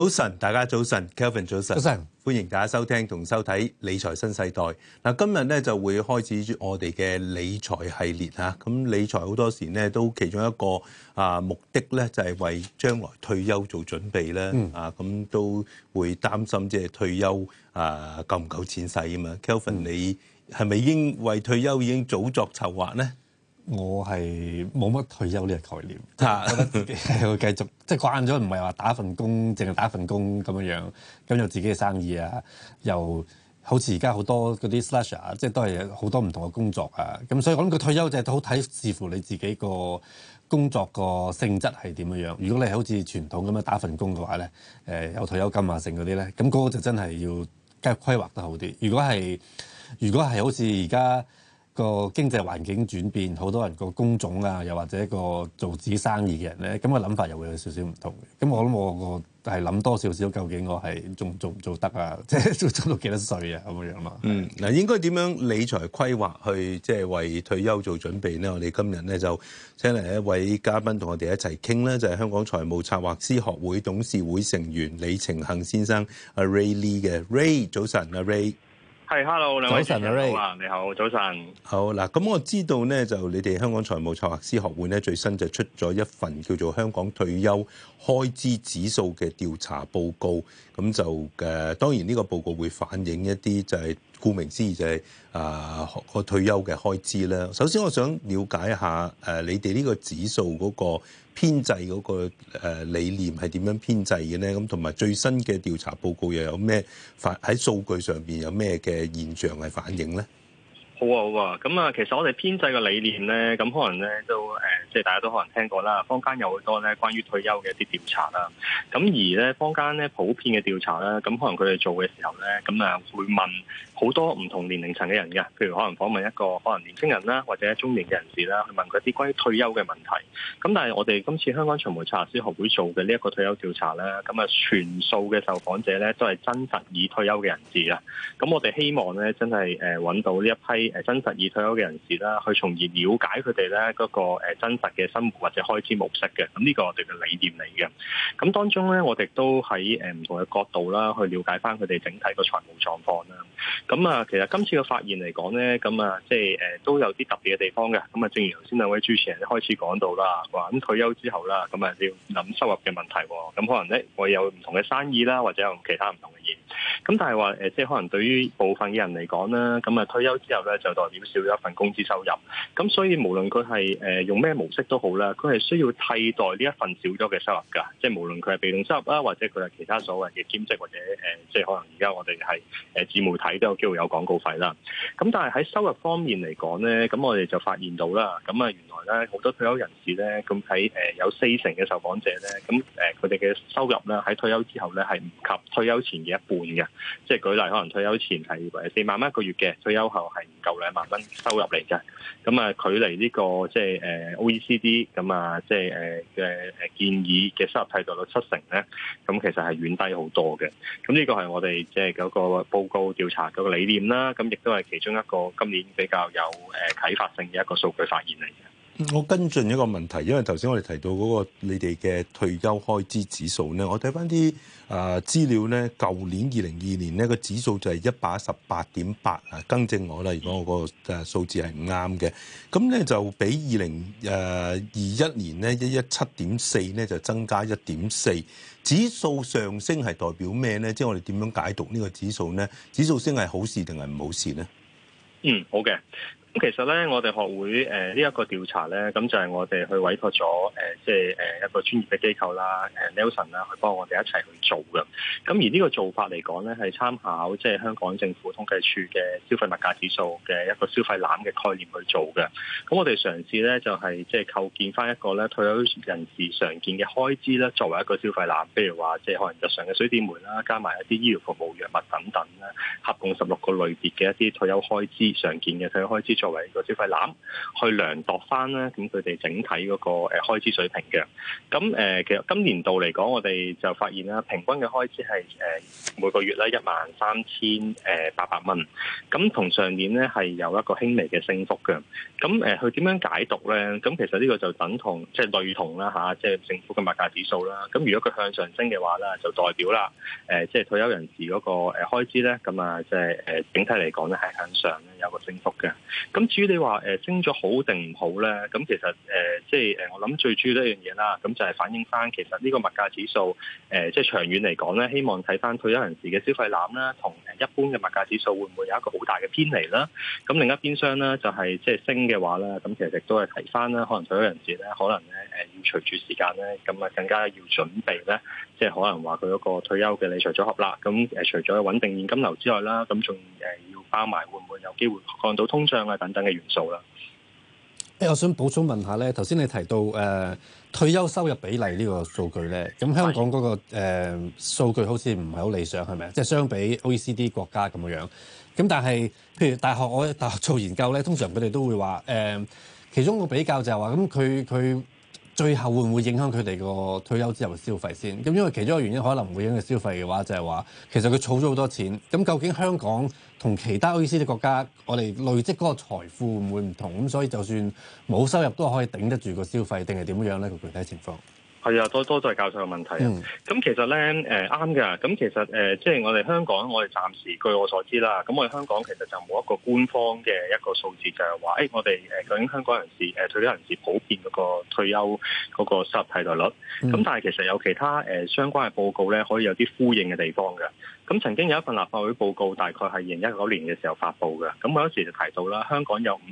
早晨，大家早晨 ，Kelvin 早晨， 早晨， 歡迎大家收聽同收睇理財新世代。嗱，今日咧就會開始我哋嘅理財系列嚇。咁理財好多時咧都其中一個目的咧就係為將來退休做準備咧。咁都會擔心即係退休夠唔夠錢使啊嘛。Kelvin，你係咪已經為退休已經早作籌劃咧？ 我係冇乜退休呢個概念，覺得自己係會繼續即係慣咗，唔係話打份工，淨係打份工咁樣，咁有自己嘅生意啊，又好似而家好多嗰啲 slasher， 即係都係好多唔同嘅工作啊，咁所以我諗個退休就係好睇視乎你自己個工作個性質係點樣。如果你係好似傳統咁樣打份工嘅話咧，有退休金啊剩嗰啲咧，咁嗰個就真係要規劃得好啲。如果係好似而家個經濟環境轉變，好多人個工種啊，又或者個做自己生意嘅人咧，咁個諗法又會有少少唔同嘅。咁我諗我個係諗多少少，究竟我係仲做唔做得啊？即係做到幾多歲啊？咁樣咯。 嗱，應該點樣理財規劃去即係為退休做準備咧？我哋今日咧就請嚟一位嘉賓同我哋一齊傾咧，就係香港財務策劃師學會董事會成員李澄幸先生阿 Ray Lee 嘅 Ray，早晨阿 Ray。 係 ，hello， 兩位早晨， Ray 你好，早晨。 好嗱，咁我知道咧，就你哋香港財務策劃師學會咧，最新就出咗一份叫做《香港退休開支指數》嘅調查報告。咁就當然呢個報告會反映一啲就係顧名思義就係個退休嘅開支啦。首先我想了解一下你哋呢個指數嗰個編製嗰個理念係點樣編製嘅咧？咁同埋最新嘅調查報告又有咩喺數據上邊有咩嘅現象係反映咧？ 好啊，咁啊，其實我哋編製嘅理念咧，咁可能咧都即係大家都可能聽過啦。坊間有好多咧關於退休嘅一啲調查啦。咁而咧坊間咧普遍嘅調查啦，咁可能佢哋做嘅時候咧，咁啊會問好多唔同年齡層嘅人嘅，譬如可能訪問一個可能年輕人啦，或者中年嘅人士啦，去問佢一啲關於退休嘅問題。咁但係我哋今次香港財務策劃師學會做嘅呢一個退休調查咧，咁啊全數嘅受訪者咧都係真實已退休嘅人士啊。咁我哋希望咧真係揾到呢一批真實已退休嘅人士啦，去從而了解佢哋咧嗰個真實嘅生活或者開支模式嘅。咁呢個我哋嘅理念嚟嘅。咁當中咧，我哋都喺唔同嘅角度啦，去了解翻佢哋整體個財務狀況啦。咁啊，其實今次嘅發現嚟講咧，咁啊即係都有啲特別嘅地方嘅。咁啊，正如頭先兩位主持人一開始講到啦，話咁退休之後啦，咁啊要諗收入嘅問題。咁可能咧會有唔同嘅生意啦，或者有其他唔同嘅嘢。咁但係話即係可能對於部分嘅人嚟講啦，咁啊退休之後咧就代表少咗一份工資收入，咁所以無論佢係用咩模式都好啦，佢係需要替代呢一份少咗嘅收入㗎，即係無論佢係被動收入啦，或者佢係其他所謂嘅兼職或者即係可能而家我哋係自媒體都有機會有廣告費啦。咁但係喺收入方面嚟講咧，咁我哋就發現到啦，咁啊原來咧好多退休人士咧，咁喺有40%嘅受訪者咧，咁佢哋嘅收入咧喺退休之後咧係唔及退休前嘅一半嘅，即係舉例可能退休前係4萬蚊一個月嘅，退休後係唔夠2萬蚊收入嚟嘅。咁啊距離呢個即係OECD 咁啊即係嘅建議嘅收入替代率70%咧，咁其實係遠低好多嘅。咁呢個係我哋即係嗰個報告調查嗰個理念啦，咁亦都係其中一個今年比較有啟發性嘅一個數據發現嚟嘅。 我跟進一個問題，因為頭先我哋提到嗰個你哋嘅退休開支指數咧，我睇翻啲資料咧，舊年2022年呢個指數就係118.8啊，更正我啦，如果我個數字係唔啱嘅，咁咧就比2021年咧117.4咧就增加1.4，指數上升係代表咩咧？即係我哋點樣解讀呢個指數咧？指數升係好事定係唔好事咧？ 好嘅。咁其實咧，我哋學會呢一個調查咧，咁就係我哋去委託咗即係一個專業嘅機構啦，Nelson 啦，去幫我哋一齊去做嘅。咁而呢個做法嚟講咧，係參考即係香港政府統計處嘅消費物價指數嘅一個消費籃嘅概念去做嘅。咁我哋嘗試咧就係即係構建翻一個咧退休人士常見嘅開支咧，作為一個消費籃，譬如話即係可能日常嘅水電煤啦，加埋一啲醫療服務、藥物等等啦，合共16個類別嘅一啲退休開支常見嘅退休開支。 作為個消費籃去量度翻咧，咁佢哋整體嗰個開支水平嘅。咁其實今年度嚟講，我哋就發現啦，平均嘅開支係每個月咧13,800蚊，咁同上年咧係有一個輕微嘅升幅嘅。咁佢點樣解讀咧？咁其實呢個就等同即係類同啦嚇，即係政府嘅物價指數啦。咁如果佢向上升嘅話咧，就代表啦即係退休人士嗰個開支咧，咁啊即係整體嚟講咧係向上咧有個升幅嘅。咁至於你話升咗好定唔好咧？咁其實即係我諗最主要一樣嘢啦，咁就係反映翻其實呢個物價指數即係長遠嚟講咧，希望睇翻退休人士嘅消費籃啦，同一般嘅物價指數會唔會有一個好大嘅偏離啦？咁另一邊廂咧就係即係升嘅話咧，咁其實亦都係提翻啦，可能退休人士咧，可能咧要隨住時間咧，咁啊更加要準備咧，即係可能話佢嗰個退休嘅理財組合啦。咁除咗穩定現金流之外啦，咁仲要包埋會唔會有機會降到通脹啊等等嘅元素啦。 我想補充問下咧，頭先你提到退休收入比例呢個數據咧，咁香港嗰個數據好似唔係好理想，係咪？即係相比 OECD 國家咁樣。咁但係譬如我喺大學做研究咧，通常佢哋都會話其中個比較就係話咁佢最後會唔會影響佢哋個退休之後嘅消費先？咁因為其中一個原因可能唔會影響消費嘅話，就係話其實佢儲咗好多錢。咁究竟香港同其他 OECD 國家，我哋累積嗰個財富會唔會唔同？咁所以就算冇收入都可以頂得住個消費，定係點樣咧？個具體情況？ 係啊，多謝教授嘅問題啊。咁其實咧啱㗎。咁其實即係我哋香港，我哋暫時據我所知啦，咁我哋香港其實就冇一個官方嘅一個數字，就係話我哋究竟香港人士退休人士普遍嗰個退休嗰個收入替代率。咁但係其實有其他相關嘅報告咧，可以有啲呼應嘅地方嘅。咁曾經有一份立法會報告，大概係2019年嘅時候發布嘅。咁我嗰時就提到啦，香港有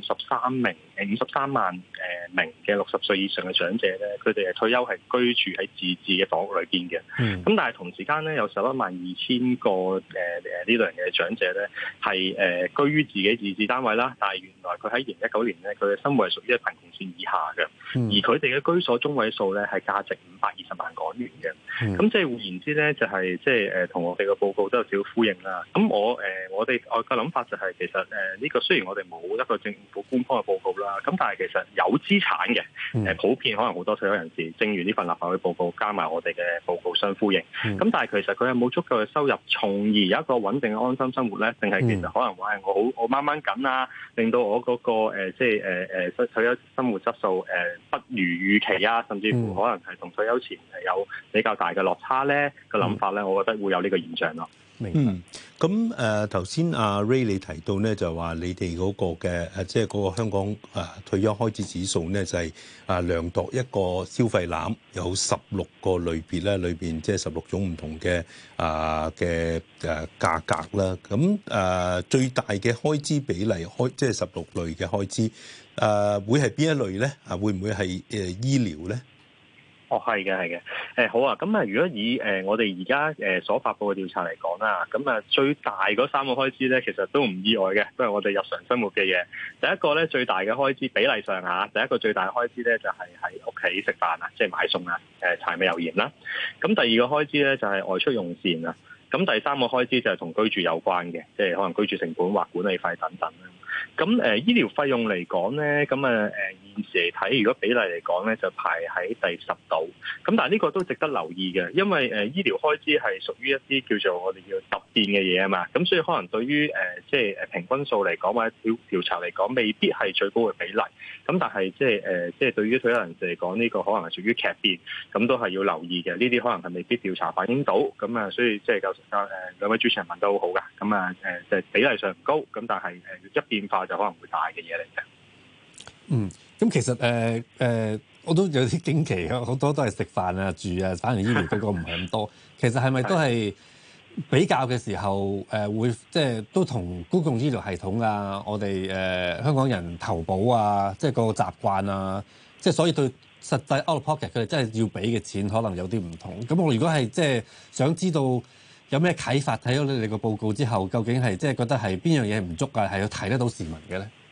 53萬名嘅60歲以上嘅長者咧，佢哋係退休係居住喺自治嘅房屋裏邊嘅。咁但係同時間咧，有112000個呢類型嘅長者咧係居於自己自治單位啦。但係原來佢喺2019年咧，佢嘅生活係屬於貧窮線以下嘅，而佢哋嘅居所中位數咧係價值520萬港元嘅。咁即係換言之咧，就係即係同我哋嘅報告都有少少呼應啦。咁我嘅諗法就係其實呢個雖然我哋冇一個政府官方嘅報告啦，咁但係其實有資產嘅普遍可能好多退休人士，正如呢份立法會報告加埋我哋嘅報告相呼應。咁但係其實佢有冇足夠嘅收入，從而有一個穩定嘅安心生活咧？定係其實可能話係我掹掹緊啊，令到我嗰個退休生活質素不如預期啊，甚至乎可能係同退休前係有比較大嘅落差咧。個諗法咧，我覺得會有呢個現象咯。 咁頭先阿 Ray 你提到咧，就話你哋嗰個嘅即係嗰個香港退休開支指數咧，就係量度一個消費籃，有16個類別咧，裏邊即係16種唔同嘅價格啦。咁最大嘅開支比例即係16類嘅開支會係邊一類咧？會唔會係醫療咧？ 係嘅，好啊。咁如果以我哋而家所發佈嘅調查嚟講啦，咁最大嗰3個開支咧，其實都唔意外嘅，都係我哋日常生活嘅嘢。第一個咧，最大嘅開支比例上第一個最大嘅開支咧，就係喺屋企食飯啊，即係買餸啊，柴米油鹽啦。咁第二個開支咧，就係外出用膳啊。咁第三個開支就係同居住有關嘅，即係可能居住成本或管理費等等啦。咁醫療費用嚟講咧，咁現時嚟睇，如果比例嚟講咧，就排喺第10度。咁但係呢個都值得留意嘅，因為醫療開支係屬於一啲叫做我哋叫突變嘅嘢啊嘛。咁所以可能對於即係平均數嚟講或者調查嚟講，未必係最高嘅比例。咁但係即係對於退休人士嚟講，呢個可能係屬於劇變，咁都係要留意嘅。呢啲可能係未必調查反映到。咁所以即係兩位主持人問得好好㗎。咁就係比例上唔高，咁但係一變化就可能會大嘅嘢嚟嘅。 咁其實我都有啲驚奇，好多都係食飯啊、住啊，反而醫療嗰個唔係咁多。其實係咪都係比較嘅時候會即係都同公共醫療系統啊，我哋香港人投保啊，即係個習慣啊，即係所以對實際 out of pocket 佢哋真係要俾嘅錢可能有啲唔同。咁我如果係即係想知道有咩啟發，睇咗你哋個報告之後，究竟係即係覺得係邊樣嘢唔足啊，係要提得到市民嘅咧？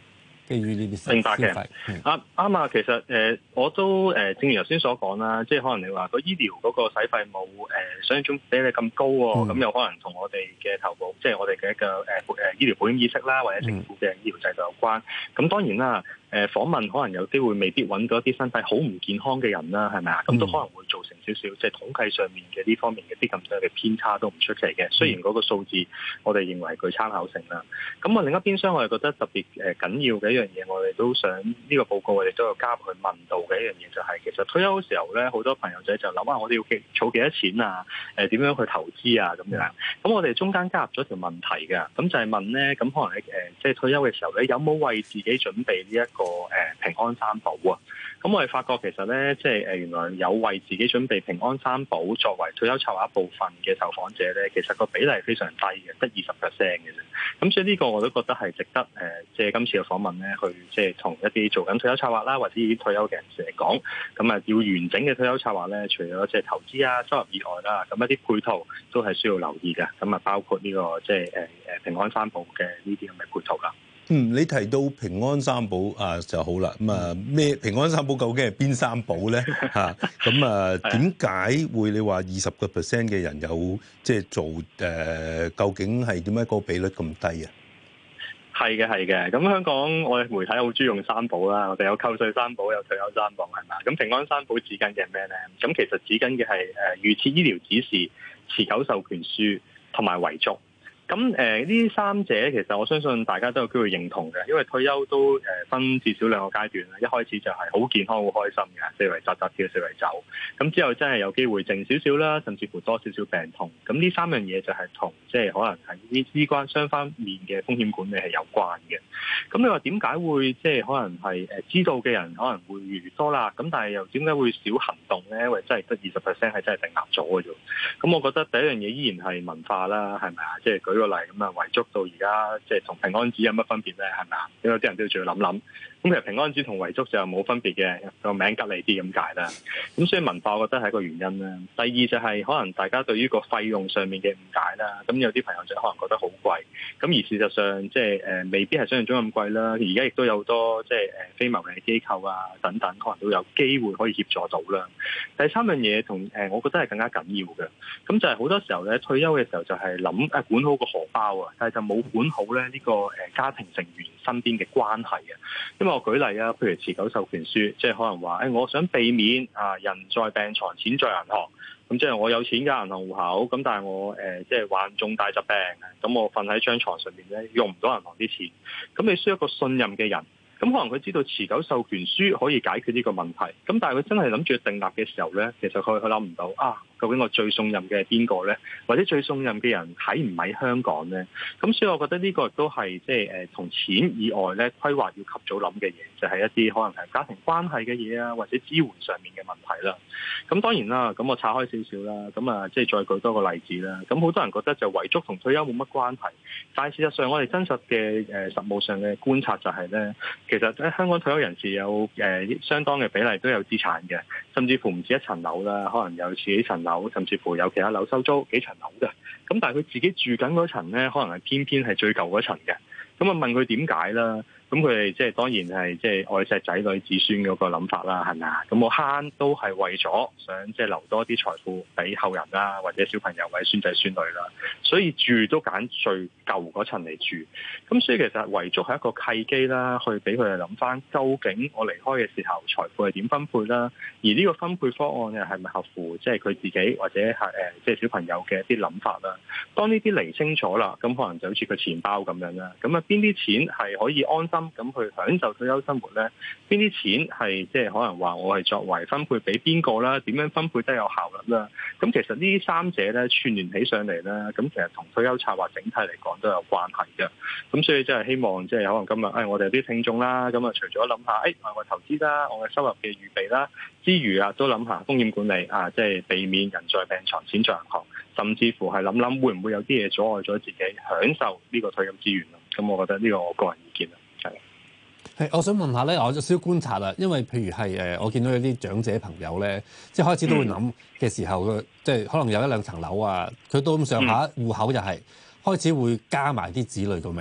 基於呢啲消費。 明白嘅，啱啊。其實我都正如頭先所講啦，即係可能你話個醫療嗰個使費冇想象中比你咁高喎，咁有可能同我哋嘅投保，即係我哋嘅一個醫療保險意識啦，或者政府嘅醫療制度有關。咁當然啦。訪問可能有機會未必揾到一啲身體好唔健康嘅人啦，係咪啊？咁都可能會造成少少即係統計上面嘅呢方面嘅啲咁多嘅偏差都唔出奇嘅。雖然嗰個數字我哋認為具參考性啦。咁另一邊廂我哋覺得特別緊要嘅一樣嘢，我哋都想呢個報告我哋都有加入去問到嘅一樣嘢，就係其實退休嘅時候咧，好多朋友仔就諗下我哋要儲幾多錢啊？點樣去投資啊？咁樣。咁我哋中間加入咗條問題嘅，咁就係問咧，咁可能即係退休嘅時候咧，有冇為自己準備呢一個平安三寶啊？咁我哋發覺其實咧，即係原來有為自己準備平安三寶作為退休籌劃一部分嘅受訪者咧，其實個比例非常低嘅，得20%嘅啫。咁所以呢個我都覺得係值得即係今次嘅訪問咧，去即係同一啲做緊退休策劃啦，或者啲退休嘅人士嚟講，咁啊要完整嘅退休策劃咧，除咗即係投資啊、收入以外啦，咁一啲配套都係需要留意嘅。咁啊包括呢個即係平安三寶嘅呢啲咁嘅配套啦。 你提到平安三寶就好啦。咁咩平安三寶究竟係邊三寶咧？咁點解會你話20% 嘅人有即係做究竟係點解個比率咁低啊？ 係嘅。咁香港我哋媒體好中意用三寶啦，我哋有扣稅三寶，有退休三寶，係嘛？咁平安三寶指緊嘅係咩咧？咁其實指緊嘅係預設醫療指示、持久授權書同埋遺囑。咁呢三者其實我相信大家都有機會認同嘅，因為退休都分至少兩個階段啦。一開始就係好健康、好開心嘅，四圍扎扎跳、四圍走。咁之後真係有機會靜少少啦，甚至乎多少少病痛。咁呢三樣嘢就係同即係可能係呢雙方面嘅風險管理係有關嘅。咁你話點解會即係可能係知道嘅人可能會越嚟越多啦？咁但係又點解會少行動咧？因為真係得20%係真係定立咗嘅啫。咁我覺得第一樣嘢依然係文化啦，係咪啊？即係舉個例咁啊，遺囑到而家即係同平安紙有乜分別咧？係咪啊？因為啲人都要仲要諗諗。咁其實平安紙同遺囑就冇分別嘅，個名吉利啲咁解啦。咁所以文化我覺得係一個原因啦。第二就係可能大家對於個費用上面嘅誤解啦。咁有啲朋友就可能覺得好貴，咁而事實上即係未必係想象中咁貴啦。而家亦都有好多即係非牟利機構啊等等，可能都有機會可以協助到啦。第三樣嘢同我覺得係更加緊要嘅，咁就係好多時候咧退休嘅時候就係諗管好個荷包啊，但係就冇管好咧呢個家庭成員身邊嘅關係啊。因為我舉例啊，譬如持久授權書，即係可能話我想避免人在病床，錢在銀行。咁即係我有錢嘅銀行戶口，咁但係我即係患重大疾病，咁我瞓喺張床上面咧用唔到銀行啲錢。咁你需要一個信任嘅人，咁可能佢知道持久授權書可以解決呢個問題。咁但係佢真係諗住訂立嘅時候咧，其實佢諗唔到究竟我最信任嘅係邊個咧？或者最信任嘅人喺唔喺香港咧？咁所以我覺得呢個亦都係即係同錢以外咧規劃要及早諗嘅嘢，就係一啲可能係家庭關係嘅嘢啊，或者支援上面嘅問題啦。咁當然啦，咁我拆開少少啦，咁即係再舉多個例子啦。咁好多人覺得就遺囑同退休冇乜關係，但係事實上我哋真實嘅實務上嘅觀察就係咧，其實喺香港退休人士有相當嘅比例都有資產嘅，甚至乎唔止一層樓啦，可能有自己層樓，甚至乎有其他樓收租幾層樓嘅。咁但係佢自己住緊嗰層咧，可能係偏偏係最舊嗰層嘅。咁問佢點解啦？咁佢哋即係當然係即係愛錫仔女子孫嗰個諗法啦，係咪啊？咁我慳都係為咗想即係留多啲財富俾後人啦，或者小朋友或者孫仔孫女啦，所以住都揀最舊嗰層嚟住。咁所以其實遺囑係一個契機啦，去俾佢哋諗翻究竟我離開嘅時候財富係點分配啦，而呢個分配方案又係咪合乎即係佢自己或者係即係小朋友嘅一啲諗法啦？當呢啲釐清楚啦，咁可能就好似個錢包咁樣啦。咁邊啲錢係可以安心咁去享受退休生活咧？邊啲錢係即係可能話我係作為分配俾邊個啦？點樣分配得有效率啦？咁其實呢三者咧串聯起上嚟啦，咁其實同退休策劃整體嚟講都有關係嘅。咁所以即係希望即係可能今日我哋啲聽眾啦，咁除咗諗下我投資啦，我嘅收入嘅預備啦之餘都諗下風險管理即係避免人在病床錢在銀行，甚至乎係諗會唔會有啲嘢阻礙咗自己享受呢個退休資源咯？咁我覺得呢個我個人意見啦。 係，我想問下咧，我有少少觀察啦，因為譬如係我見到有啲長者朋友咧，即係開始都會諗嘅時候，即係可能有一兩層樓啊，佢到咁上下戶口就係開始會加埋啲子女個名，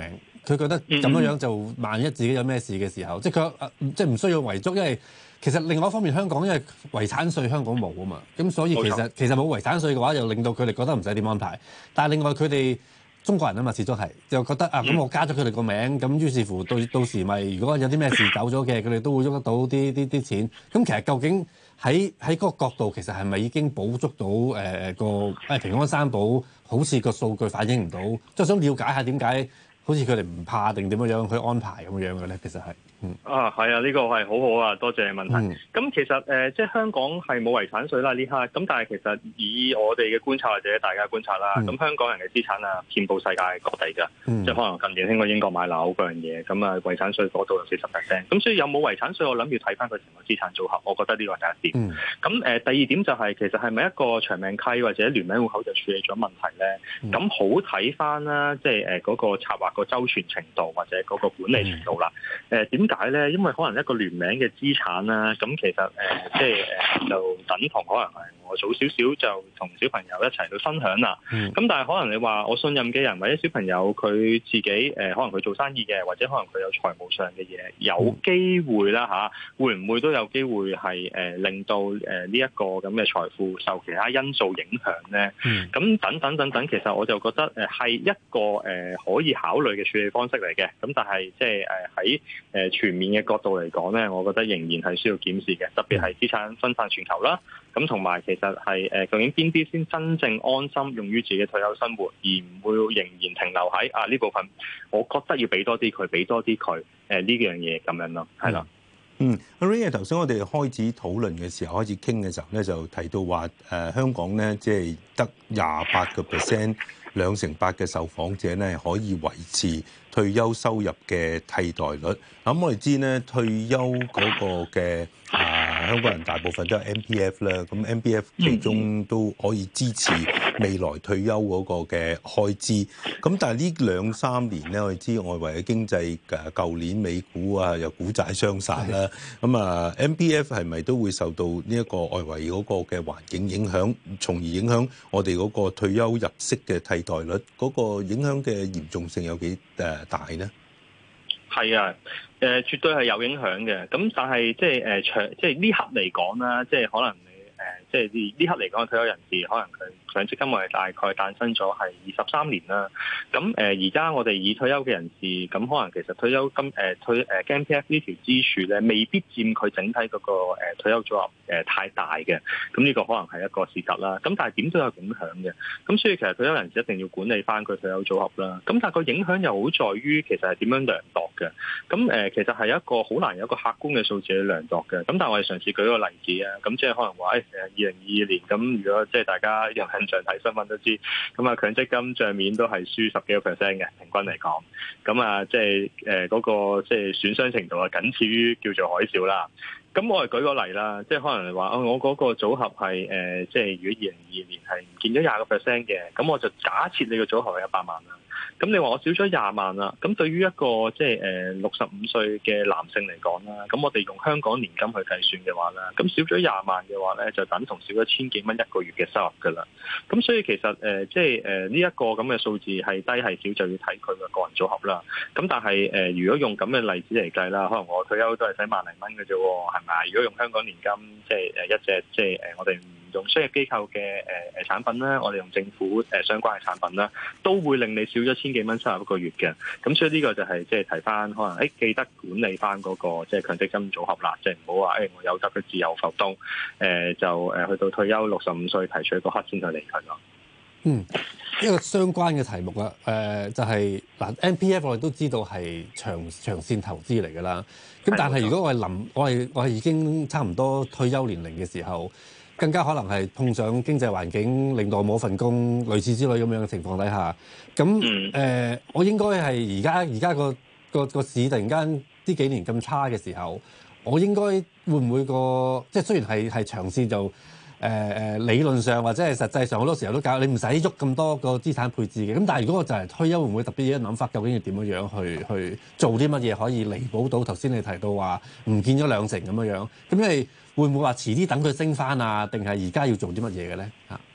佢覺得咁樣就萬一自己有咩事嘅時候，即係佢即係唔需要遺囑，因為其實另外一方面香港因為遺產稅香港冇啊嘛，咁所以其實冇遺產稅嘅話，又令到佢哋覺得唔使點安排。但係另外佢哋中國人啊嘛，始終係就覺得咁我加咗佢哋個名，咁於是乎到時咪如果有啲咩事走咗嘅，佢哋都會喐得到啲錢。咁其實究竟喺嗰個角度，其實係咪已經補足到個平安三寶？好似個數據反映唔到，即係想了解下點解好似佢哋唔怕定點樣去安排咁樣嘅咧？其實係係啊，呢個係好好啊，多謝你問題。咁其實即係香港係冇遺產稅啦呢刻，咁但係其實以我哋嘅觀察或者大家觀察啦，咁香港人嘅資產啊遍佈世界各地㗎，即係可能近年興過英國買樓嗰樣嘢，咁啊遺產稅嗰度有40%，咁所以有冇遺產稅，我諗要睇翻佢成個資產組合，我覺得呢個係第一點。咁第二點就係其實係咪一個長命契或者聯名戶口就處理咗問題咧？咁好睇翻啦，即係嗰個策劃個周全程度或者嗰個管理程度啦。點解咧？因為可能一個聯名嘅資產啦，咁其實即係就等同可能係我早少少就同小朋友一齊去分享啦。咁但係可能你話我信任嘅人或者小朋友佢自己可能佢做生意嘅，或者可能佢有財務上嘅嘢，有機會啦嚇，會唔會都有機會係令到呢一個咁嘅財富受其他因素影響咧？咁等等，其實我就覺得係一個可以考慮嘅處理方式嚟嘅。咁但係即係喺全面嘅角度嚟講咧，我覺得仍然係需要檢視嘅，特別係資產分散全球啦。咁同埋其實係究竟邊啲先真正安心用於自己退休生活，而唔會仍然停留喺呢部分，我覺得要俾多啲佢，俾多啲佢呢樣嘢咁樣咯，係啦。 阿 Ray 頭先我哋開始討論嘅時候，開始傾嘅時候咧，就提到話香港咧即係得28%。2成8嘅受訪者咧可以維持退休收入嘅替代率。咁我哋知咧退休嗰個嘅香港人大部分都係 MPF 啦，咁 MPF 其中都可以支持未來退休嗰個嘅開支。咁但係呢2-3年咧，我哋知外圍嘅經濟舊年美股又股債雙殺啦。咁MPF 係咪都會受到呢一個外圍嗰個嘅環境影響，從而影響我哋嗰個退休入息嘅替代率？嗰個影響嘅嚴重性有幾大呢？ 係啊，絕對係有影響嘅。咁但係即係呢刻嚟講啦，即係可能你即係呢刻嚟講嘅退休人士，可能佢強積金我哋大概誕生咗係23年啦。咁而家我哋已退休嘅人士，咁可能其實退休金MPF 呢條支柱咧，未必佔佢整體嗰個退休組合太大嘅。咁呢個可能係一個事實啦。咁但係點都有影響嘅。咁所以其實退休人士一定要管理翻佢退休組合啦。咁但係個影響又好在於其實係點樣量度嘅。咁其實係一個好難有一個客觀嘅數字去量度嘅。咁但係我哋嘗試舉個例子啊。咁即係可能話2022年咁，如果即係大家有印象睇新聞都知，咁強積金帳面都係輸10幾個%嘅平均嚟講。咁即係嗰個即係損傷程度係僅次於叫做海嘯啦。咁我哋舉個例啦，即係可能你話我嗰個組合係即係如果2022年係唔見咗20個%嘅，咁我就假設你個組合係100萬啦。咁你話我少咗20萬啦，咁對於一個即係65歲嘅男性嚟講啦，咁我哋用香港年金去計算嘅話啦，咁少咗20萬嘅話咧，就等同少咗千幾蚊一個月嘅收入噶啦。咁所以其實即係呢一個咁嘅數字係低係少就要睇佢嘅個人組合啦。咁但係如果用咁嘅例子嚟計啦，可能我退休都係使萬零蚊嘅啫喎，係咪？如果用香港年金，即係一隻即係我哋用商業機構嘅產品啦，我哋用政府相關嘅產品啦，都會令你少咗千幾蚊收入一個月嘅。咁所以呢個就係即係提翻，可能記得管理翻嗰個即係強積金組合啦，即係唔好話我有得佢自由浮動，就去到退休65歲提取嗰刻先去離開咯。 一個相關嘅題目啦，就係MPF 我哋都知道係長線投資嚟㗎啦。咁但係如果我係已經差唔多退休年齡嘅時候，更加可能係碰上經濟環境令到我冇份工，類似之類咁樣嘅情況底下，咁我應該係而家個市突然間呢幾年咁差嘅時候，我應該會唔會即係雖然係長線就理論上或者係實際上好多時候都搞你唔使喐咁多個資產配置嘅，咁但係如果我就係退休，會唔會特別有諗法？究竟要點樣去做啲乜嘢可以彌補到頭先你提到話唔見咗2成咁樣？咁因為會唔會話遲啲等佢升翻啊？定係而家要做啲乜嘢嘅咧？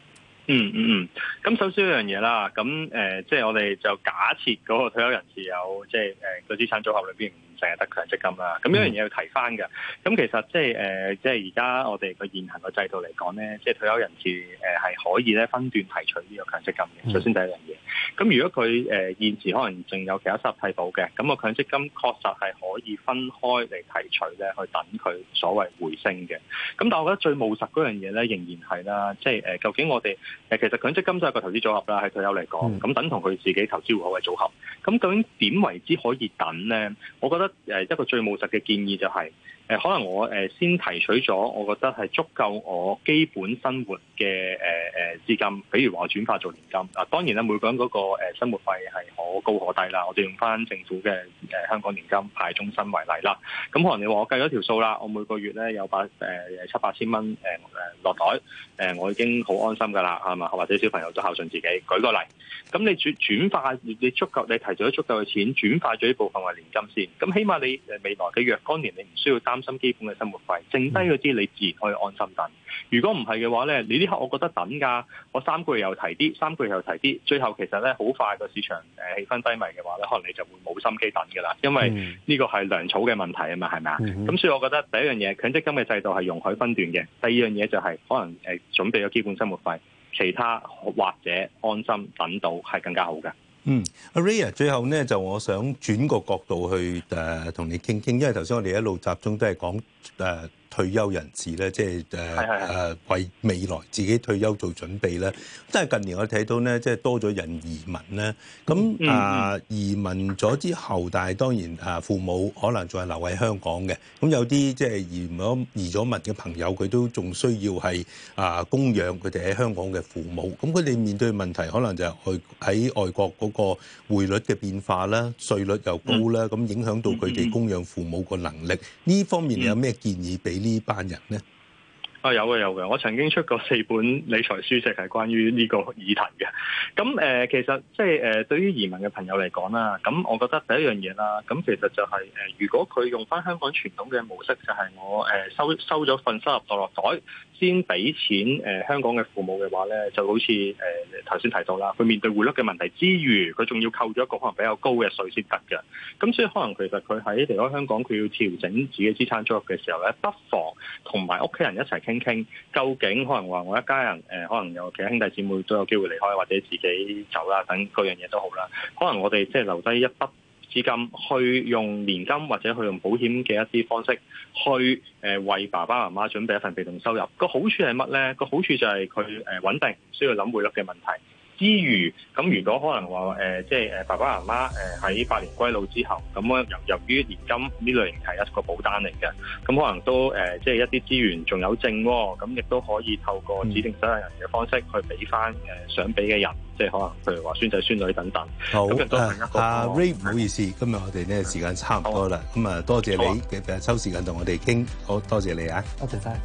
咁首先一樣嘢啦，咁即係我哋就假設嗰個退休人士有即係個資產組合裏邊唔淨係得強積金啦。咁一樣嘢要提翻嘅，咁其實即係而家我哋個現行個制度嚟講咧，即係退休人士係可以咧分段提取呢個強積金嘅。首先第一樣嘢，咁如果佢現時可能仲有其他收入替補嘅，咁個強積金確實係可以分開嚟提取咧，去等佢所謂回升嘅。咁但係我覺得最務實嗰樣嘢咧，仍然係啦，即係究竟我哋其實強積金就係個投資組合啦，喺退休嚟講，咁等同佢自己投資戶口嘅組合。咁究竟點為之可以等咧？我覺得一個最務實嘅建議就係可能我先提取咗，我覺得係足夠我基本生活嘅資金，比如話我轉化做年金。當然啦，每個人嗰個生活費係可高可低啦。我哋用翻政府嘅香港年金派終身為例啦。咁可能你話我計咗條數啦，我每個月咧有700-8千蚊落袋，我已經好安心㗎啦，係嘛？或者小朋友都孝順自己。舉個例，咁你轉化你提取咗足夠嘅錢，轉化咗呢部分為年金先。咁起碼你未來嘅若干年，你唔需要擔心基本嘅生活費，剩低嗰啲你自然可以安心等。如果唔係嘅話咧，你呢刻我覺得等㗎，我3個月又提啲，3個月又提啲，最後其實咧好快個市場氣氛低迷嘅話咧，可能你就會冇心機等㗎啦，因為呢個係糧草嘅問題啊嘛，係咪啊？咁所以我覺得第一樣嘢，強積金嘅制度係容許分段嘅；第二樣嘢就係可能準備咗基本生活費，其他或者安心等到係更加好嘅。 阿 Ray 最後咧就我想轉個角度去同你傾傾，因為頭先我哋一路集中都係講退休人士咧，即係為未來自己退休做準備咧。但係近年我睇到咧，即係多咗人移民咧。咁移民咗之後，但係當然父母可能仲係留喺香港嘅。咁有啲即係移咗民嘅朋友，佢都仲需要係供養佢哋喺香港嘅父母。咁佢哋面對嘅問題，可能就係喺外國嗰個匯率嘅變化啦，稅率又高啦，咁影響到佢哋供養父母個能力。呢方面你有咩建議俾呢班人咧？ 有嘅，我曾經出過4本理財書籍係關於呢個議題嘅。咁其實即係對於移民嘅朋友嚟講啦，咁我覺得第一樣嘢啦，咁其實就係如果佢用翻香港傳統嘅模式，就係我收咗份收入落袋，先俾錢香港嘅父母嘅話咧，就好似頭先提到啦，佢面對匯率嘅問題之餘，佢仲要扣咗一個可能比較高嘅稅先得嘅。咁所以可能其實佢喺離開香港，佢要調整自己資產組合嘅時候咧，不妨同埋屋企人一齊傾，究竟可能話我一家人可能有其他兄弟姊妹都有機會離開，或者自己走啦，等各樣嘢都好啦。可能我哋即係留低一筆資金，去用年金或者去用保險嘅一啲方式，去為爸爸媽媽準備一份被動收入。個好處係乜咧？個好處就係佢穩定，唔需要諗匯率嘅問題。之餘，咁如果可能話即係爸爸媽媽喺百年歸老之後，咁由於年金呢類型係一個保單嚟嘅，咁可能都即係一啲資源仲有剩喎，咁亦都可以透過指定受益人嘅方式去俾翻想俾嘅人，即係可能譬如話孫仔孫女等等。 好， 咁亦都係一個 Ray 唔好意思，今日我哋呢時間差唔多啦，咁多謝你嘅抽時間同我哋傾，好多謝你啊， 多謝晒。